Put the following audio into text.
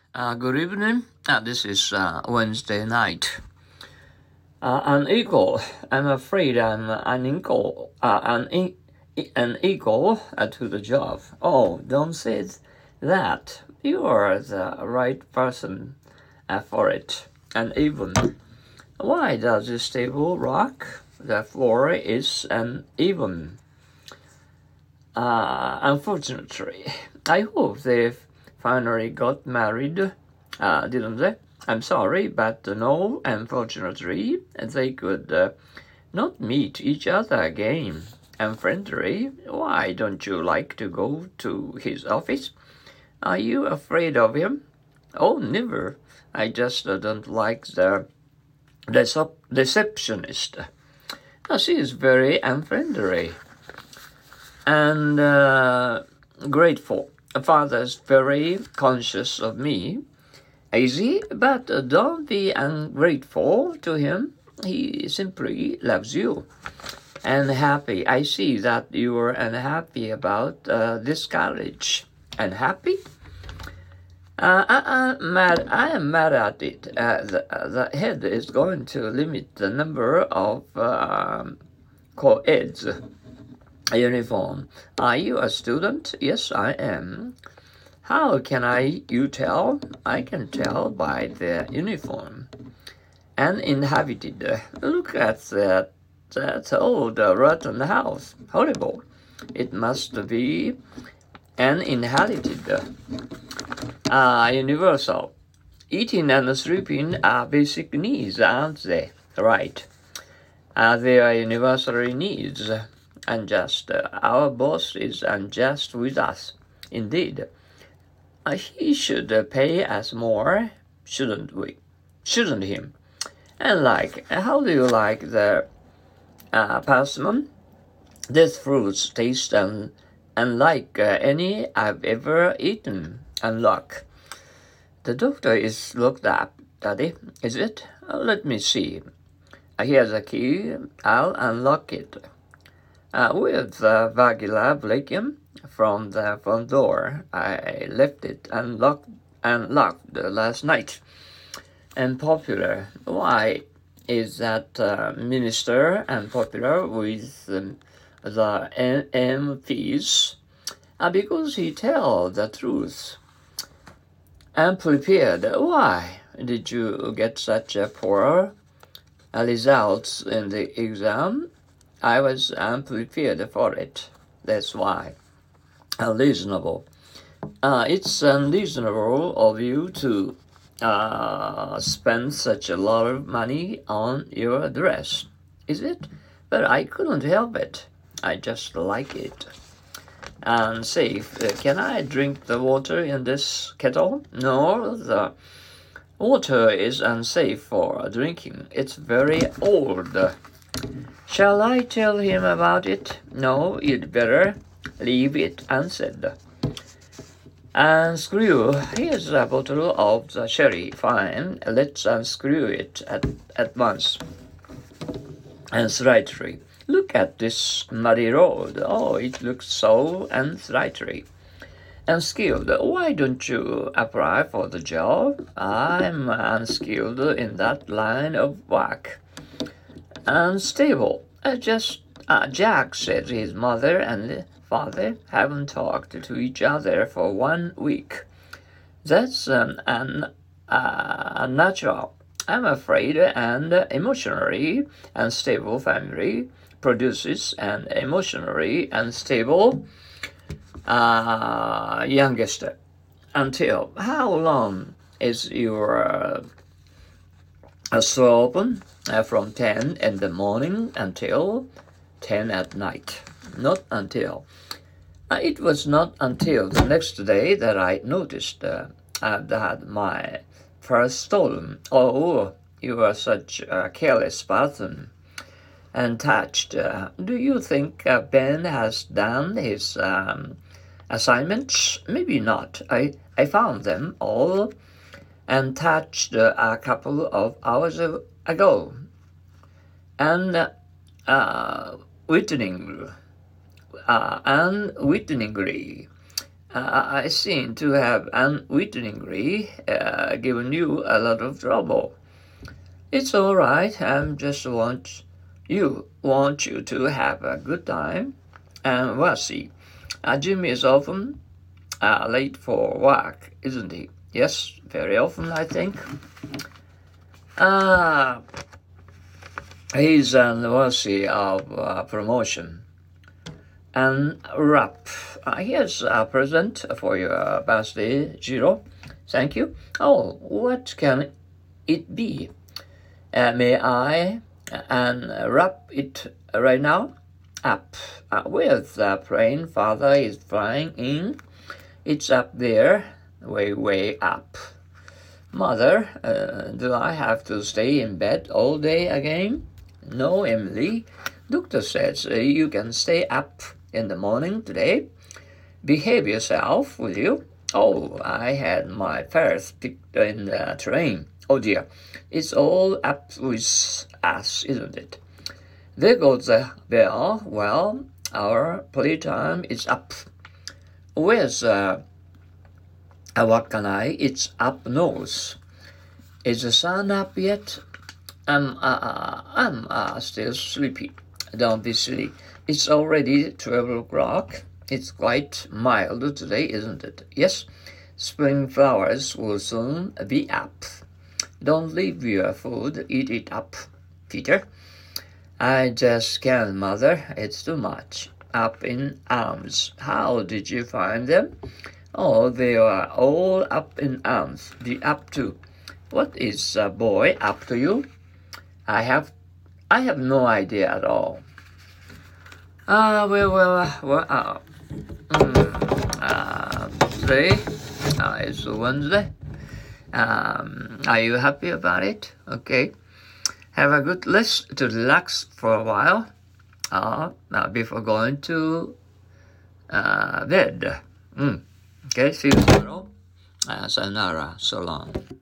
Good evening. This is Wednesday night. An eagle. I'm afraid I'm an eagle. An eagle to the job. Oh, don't say that. You are the right person for it. And even why does this table rock? The floor is uneven. Unfortunately, I hope they've finally got married, didn't they? I'm sorry, but no, unfortunately, they could not meet each other again. Unfriendly, why don't you like to go to his office? Are you afraid of him? Oh, never. I just don't like the receptionist. She is very unfriendly and grateful. Father's very conscious of me. Easy, but don't be ungrateful to him. He simply loves you. And happy. I see that you are unhappy about this college. Unhappy? I am mad at it. The head is going to limit the number of co-eds. Uniform. Are you a student? Yes, I am. How can you tell? I can tell by the uniform. Uninhabited. Look at that old rotten house. Horrible. It must be uninhabited. Universal. Eating and sleeping are basic needs, aren't they? Right. They are universal needs. Unjust. Our boss is unjust with us. Indeed. He should pay us more, shouldn't we? Shouldn't him? And how do you like the persimmon? This fruit tastes unlike any I've ever eaten. Unlock. The doctor is locked up, Daddy, is it? Let me see. Here's a key. I'll unlock it. With the Vagila Blakium from the front door. I left it unlocked last night. Unpopular. Why is that minister unpopular with the MPs? Because he tells the truth. Unprepared. Why did you get such a poor results in the exam? I was unprepared for it. That's why. Unreasonable. It's unreasonable of you to spend such a lot of money on your dress, is it? But I couldn't help it. I just like it. And safe. Can I drink the water in this kettle? No, the water is unsafe for drinking. It's very old. Shall I tell him about it? No, you'd better leave it unsaid. Unscrew. Here's a bottle of the sherry. Fine, let's unscrew it at once. Unsightly. Look at this muddy road. Oh, it looks so unsightly. Unskilled. Why don't you apply for the job? I'm unskilled in that line of work. Unstable. Jack said his mother and father haven't talked to each other for 1 week. That's unnatural. I'm afraid an emotionally unstable family produces an emotionally unstable youngest. Until how long is your store open? From 10 in the morning until 10 at night. Not until. It was not until the next day that I noticed I'd had my purse stolen. Oh, you are such a careless person. Untouched. Do you think Ben has done his assignments? Maybe not. I found them all untouched a couple of hours ago. And unwittingly, I seem to have unwittingly given you a lot of trouble. It's all right. I just want you to have a good time. And we'll see. Jimmy is often late for work, isn't he? Yes, very often, I think. He's worthy of promotion. And wrap. Here's a present for your birthday, Jiro. Thank you. Oh, what can it be? May I unwrap it right now? Up. With the plane father is flying in. It's up there, way up. Mother, do I have to stay in bed all day again? No, Emily. Doctor says you can stay up in the morning today. Behave yourself, will you? Oh, I had my first picked in the train. Oh dear, it's all up with us, isn't it? There goes the bell. Well, our playtime is up. Where's what can I? It's up north. Is the sun up yet? I'm still sleepy. Don't be silly. It's already 12 o'clock. It's quite mild today, isn't it? Yes. Spring flowers will soon be up. Don't leave your food. Eat it up, Peter. I just can't, Mother. It's too much. Up in arms. How did you find them? Oh, they are all up in arms. Be up to. What is a boy up to you? I have no idea at all. Today is Wednesday. Are you happy about it? Okay. Have a good rest to relax for a while before going to bed. Okay, see you tomorrow. Sayonara. So long.